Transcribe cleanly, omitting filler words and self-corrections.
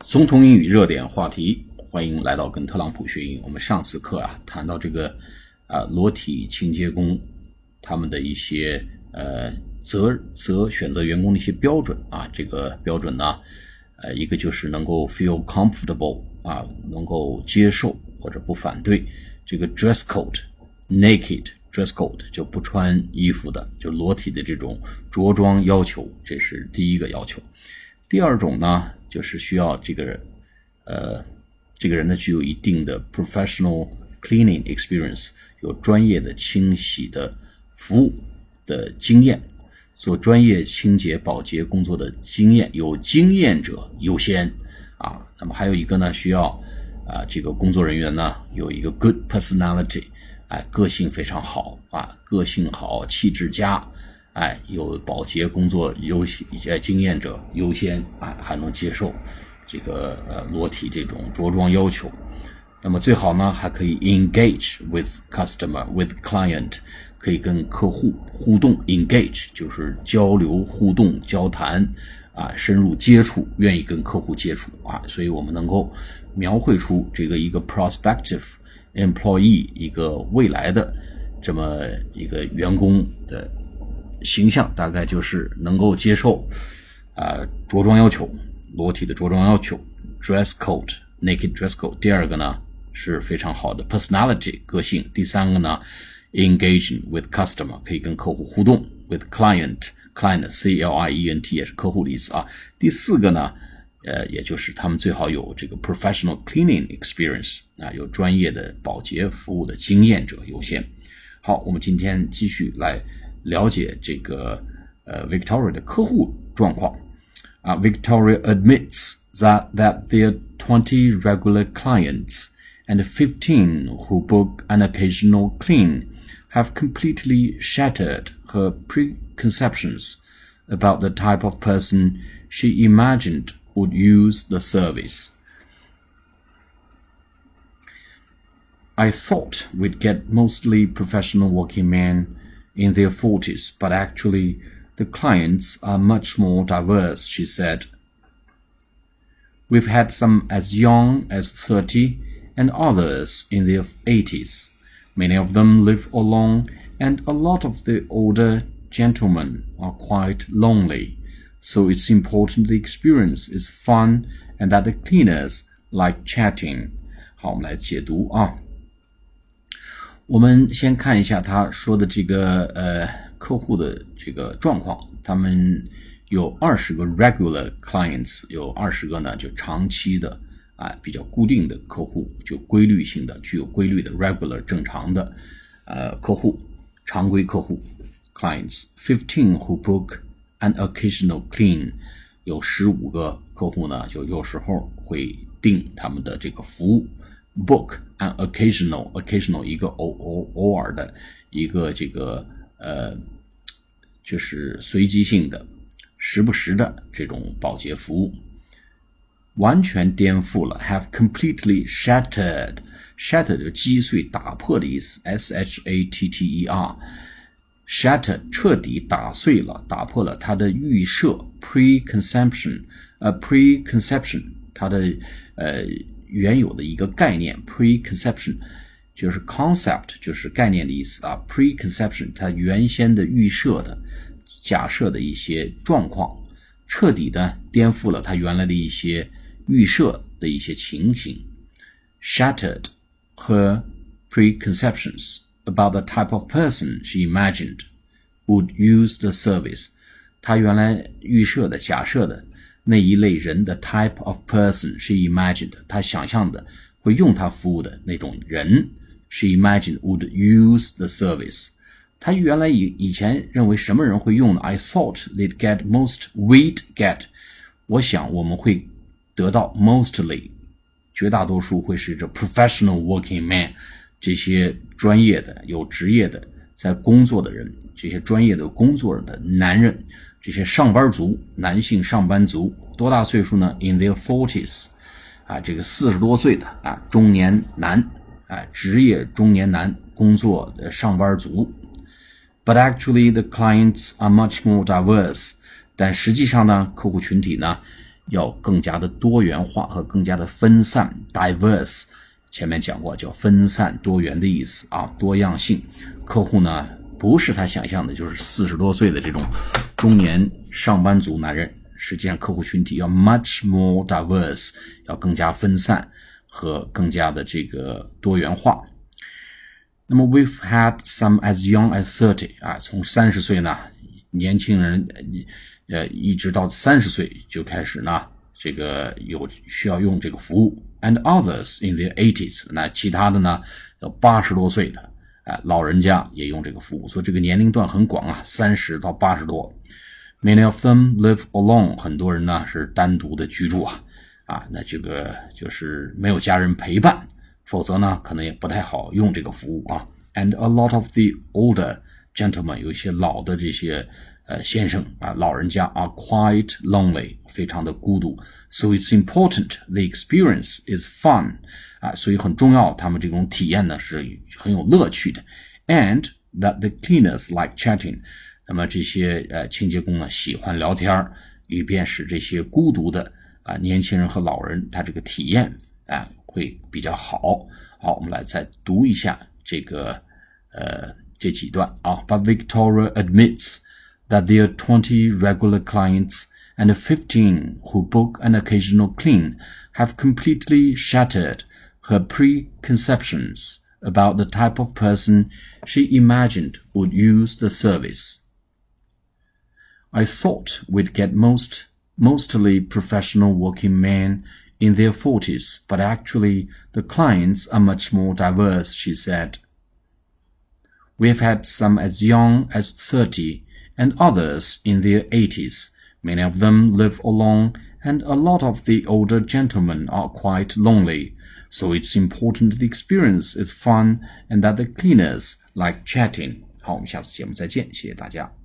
总统英语热点话题，欢迎来到跟特朗普学英语。我们上次课谈到这个裸体清洁工他们的一些选择员工的一些标准这个标准呢一个就是能够 feel comfortable 能够接受或者不反对这个 dress code naked dress code 就不穿衣服的，就裸体的这种着装要求，这是第一个要求。第二种呢，就是需要这个人呢具有一定的 professional cleaning experience， 有专业的清洗的服务的经验，做专业清洁保洁工作的经验，有经验者优先那么还有一个呢，需要这个工作人员呢有一个 good personality，个性非常好个性好，气质佳，有保洁工作经验者优先还能接受这个裸体这种着装要求。那么最好呢还可以 engage with customer with client， 可以跟客户互动， engage 就是交流互动交谈深入接触，愿意跟客户接触所以我们能够描绘出这个一个 prospective employee 一个未来的这么一个员工的形象，大概就是能够接受着装要求，裸体的着装要求 dress code naked dress code。 第二个呢是非常好的 personality 个性。第三个呢 engaging with customer 可以跟客户互动， with client C-L-I-E-N-T 也是客户的意思第四个呢也就是他们最好有这个 professional cleaning experience 有专业的保洁服务的经验者优先。好，我们今天继续来了解这个Victoria 的客户状况Victoria admits that there are 20 regular clients and 15 who book an occasional clean have completely shattered her preconceptions about the type of person she imagined would use the service. I thought we'd get mostly professional working men in their 40s, but actually the clients are much more diverse, she said. We've had some as young as 30 and others in their 80s. Many of them live alone, and a lot of the older gentlemen are quite lonely. So it's important the experience is fun and that the cleaners like chatting. 好，我们来解读我们先看一下他说的这个客户的这个状况。他们有20个 regular clients， 有20个呢就长期的比较固定的客户，就规律性的具有规律的 regular 正常的客户，常规客户 clients。 15 who book an occasional clean， 有15个客户呢就有时候会订他们的这个服务。book an occasional 一个偶尔的一个这个就是随机性的时不时的这种保洁服务。完全颠覆了 have completely shattered 就击碎打破的意思 S-H-A-T-T-E-R shattered 彻底打碎了打破了它的预设 preconception 它的原有的一个概念 preconception 就是 concept 就是概念的意思preconception 它原先的预设的假设的一些状况，彻底的颠覆了它原来的一些预设的一些情形。 shattered her preconceptions about the type of person she imagined would use the service， 她原来预设的假设的那一类人的 type of person she imagined， 她想象的会用她服务的那种人 she imagined would use the service。 她原来以前认为什么人会用呢？ I thought we'd get 我想我们会得到 mostly 绝大多数会是这 professional working man 这些专业的有职业的在工作的人，这些专业的工作的男人，这些上班族男性上班族多大岁数呢？ in their 40s这个40多岁的中年男职业中年男工作的上班族。 But actually the clients are much more diverse， 但实际上呢客户群体呢要更加的多元化和更加的分散 diverse， 前面讲过叫分散多元的意思啊，多样性。客户呢不是他想象的就是40多岁的这种中年上班族男人，实际上客户群体要 much more diverse， 要更加分散和更加的这个多元化。那么 we've had some as young as 30啊，从30岁呢年轻人一直到30岁就开始呢这个需要用这个服务 and others in their 80s， 那其他的呢要80多岁的老人家也用这个服务，所以这个年龄段很广啊，30到80多。Many of them live alone， 很多人呢是单独的居住那这个就是没有家人陪伴，否则呢可能也不太好用这个服务啊。And a lot of the older gentlemen， 有一些老的这些先生老人家are quite lonely， 非常的孤独。So it's important the experience is fun， 所以很重要，他们这种体验呢是很有乐趣的。And that the cleaners like chatting， 那么这些清洁工呢喜欢聊天，以便使这些孤独的年轻人和老人他这个体验会比较好。好，我们来再读一下这几段But Victoria admits that there are 20 regular clients and 15 who book an occasional clean have completely shattered her preconceptions about the type of person she imagined would use the service. I thought we'd get mostly professional working men in their 40s, but actually the clients are much more diverse, she said. We have had some as young as 30 and others in their 80s. Many of them live alone, and a lot of the older gentlemen are quite lonely. So it's important the experience is fun and that the cleaners like chatting. 好，我们下次节目再见，谢谢大家。